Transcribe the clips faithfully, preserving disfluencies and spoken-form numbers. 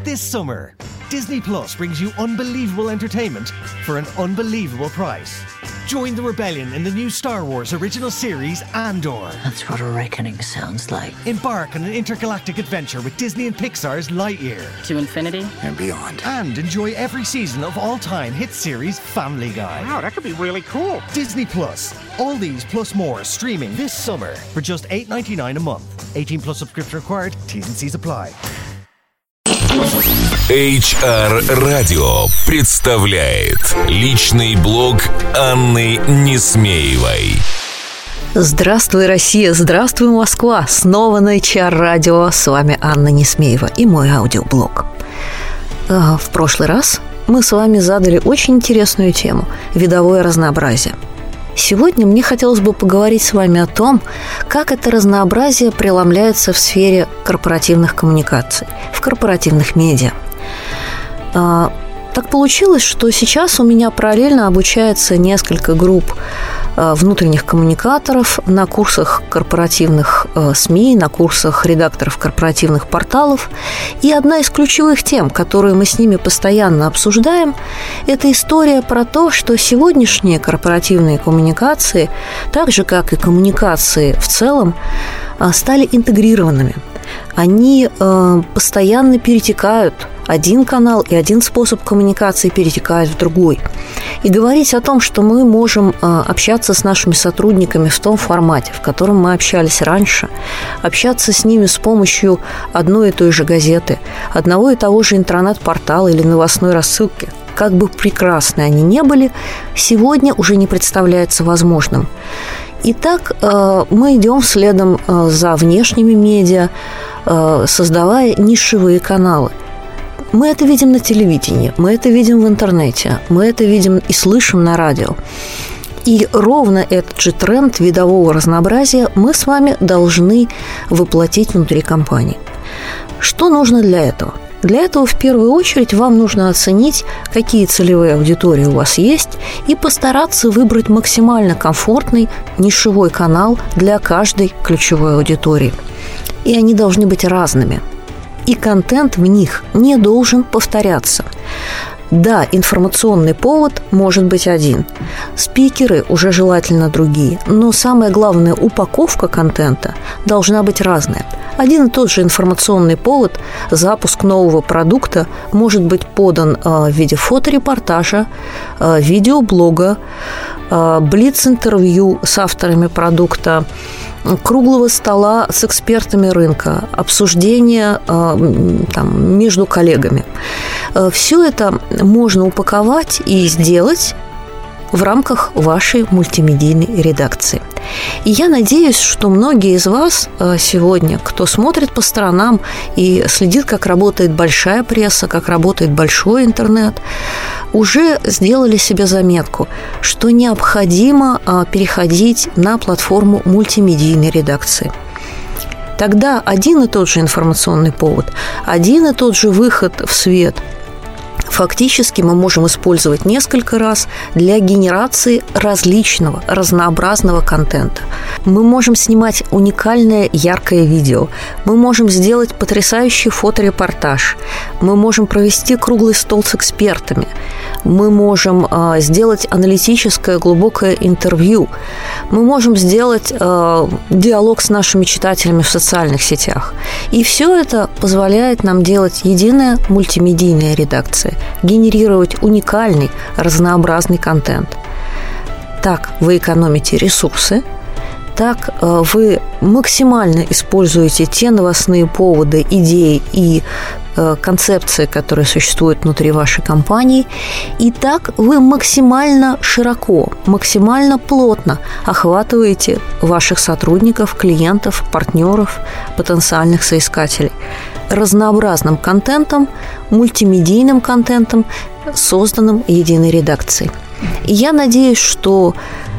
This summer, Disney Plus brings you unbelievable entertainment for an unbelievable price. Join the rebellion in the new Star Wars original series, Andor. That's what a reckoning sounds like. Embark on an intergalactic adventure with Disney and Pixar's Lightyear. To infinity and beyond. And enjoy every season of all-time hit series Family Guy. Wow, that could be really cool. Disney Plus. All these plus more streaming this summer for just eight dollars and ninety-nine cents a month. eighteen plus subscription required. T's and C's apply. эйч ар Radio представляет личный блог Анны Несмеевой. Здравствуй, Россия! Здравствуй, Москва! Снова на эйч ар Radio. С вами Анна Несмеева и мой аудиоблог. В прошлый раз мы с вами задали очень интересную тему – видовое разнообразие. Сегодня мне хотелось бы поговорить с вами о том, как это разнообразие преломляется в сфере корпоративных коммуникаций, в корпоративных медиа. Так получилось, что сейчас у меня параллельно обучается несколько групп внутренних коммуникаторов на курсах корпоративных СМИ, на курсах редакторов корпоративных порталов. И одна из ключевых тем, которую мы с ними постоянно обсуждаем, это история про то, что сегодняшние корпоративные коммуникации, так же, как и коммуникации в целом, стали интегрированными. Они постоянно перетекают. Один канал и один способ коммуникации перетекает в другой. И говорить о том, что мы можем общаться с нашими сотрудниками в том формате, в котором мы общались раньше, общаться с ними с помощью одной и той же газеты, одного и того же интернет-портала или новостной рассылки, как бы прекрасны они ни были, сегодня уже не представляется возможным. Итак, мы идем следом за внешними медиа, создавая нишевые каналы. Мы это видим на телевидении, мы это видим в интернете, мы это видим и слышим на радио. И ровно этот же тренд видового разнообразия мы с вами должны воплотить внутри компании. Что нужно для этого? Для этого в первую очередь вам нужно оценить, какие целевые аудитории у вас есть, и постараться выбрать максимально комфортный нишевой канал для каждой ключевой аудитории. И они должны быть разными. И контент в них не должен повторяться. Да, информационный повод может быть один. Спикеры уже желательно другие. Но самое главное, упаковка контента должна быть разная. Один и тот же информационный повод, запуск нового продукта, может быть подан в виде фоторепортажа, видеоблога, блиц-интервью с авторами продукта, круглого стола с экспертами рынка, обсуждения там, между коллегами. Все это можно упаковать и сделать в рамках вашей мультимедийной редакции. И я надеюсь, что многие из вас сегодня, кто смотрит по сторонам и следит, как работает большая пресса, как работает большой интернет, уже сделали себе заметку, что необходимо переходить на платформу мультимедийной редакции. Тогда один и тот же информационный повод, один и тот же выход в свет фактически мы можем использовать несколько раз для генерации различного, разнообразного контента. Мы можем снимать уникальное, яркое видео. Мы можем сделать потрясающий фоторепортаж. Мы можем провести круглый стол с экспертами. Мы можем э, сделать аналитическое, глубокое интервью. Мы можем сделать э, диалог с нашими читателями в социальных сетях. И все это позволяет нам делать единая мультимедийная редакция, генерировать уникальный, разнообразный контент. Так вы экономите ресурсы, так вы максимально используете те новостные поводы, идеи и концепции, которые существуют внутри вашей компании, и так вы максимально широко, максимально плотно охватываете ваших сотрудников, клиентов, партнеров, потенциальных соискателей разнообразным контентом, мультимедийным контентом, созданным единой редакцией. И я надеюсь, что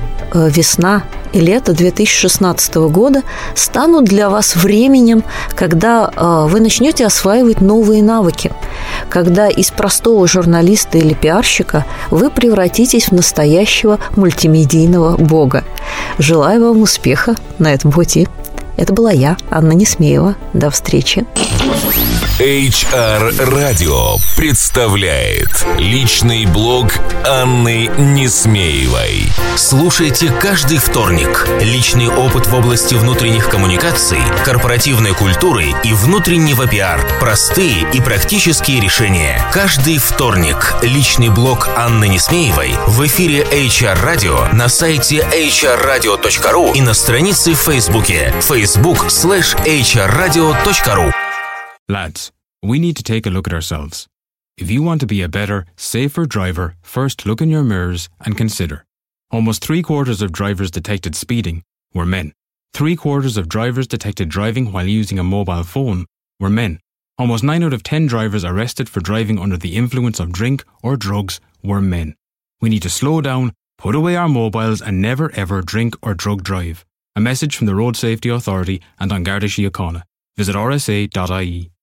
весна и лето две тысячи шестнадцатого года станут для вас временем, когда вы начнете осваивать новые навыки, когда из простого журналиста или пиарщика вы превратитесь в настоящего мультимедийного бога. Желаю вам успеха на этом пути. Это была я, Анна Несмеева. До встречи. эйч ар Радио представляет личный блог Анны Несмеевой. Слушайте каждый вторник. Личный опыт в области внутренних коммуникаций, корпоративной культуры и внутреннего пиар. Простые и практические решения. Каждый вторник. Личный блог Анны Несмеевой в эфире эйч ар Radio на сайте эйч ар радио точка ру и на странице в Фейсбуке facebook slash эйч ар радио точка ру. Lads, we need to take a look at ourselves. If you want to be a better, safer driver, first look in your mirrors and consider. Almost three quarters of drivers detected speeding were men. Three quarters of drivers detected driving while using a mobile phone were men. Almost nine out of ten drivers arrested for driving under the influence of drink or drugs were men. We need to slow down, put away our mobiles and never ever drink or drug drive. A message from the Road Safety Authority and An Garda Síochána. Visit r s a dot i e.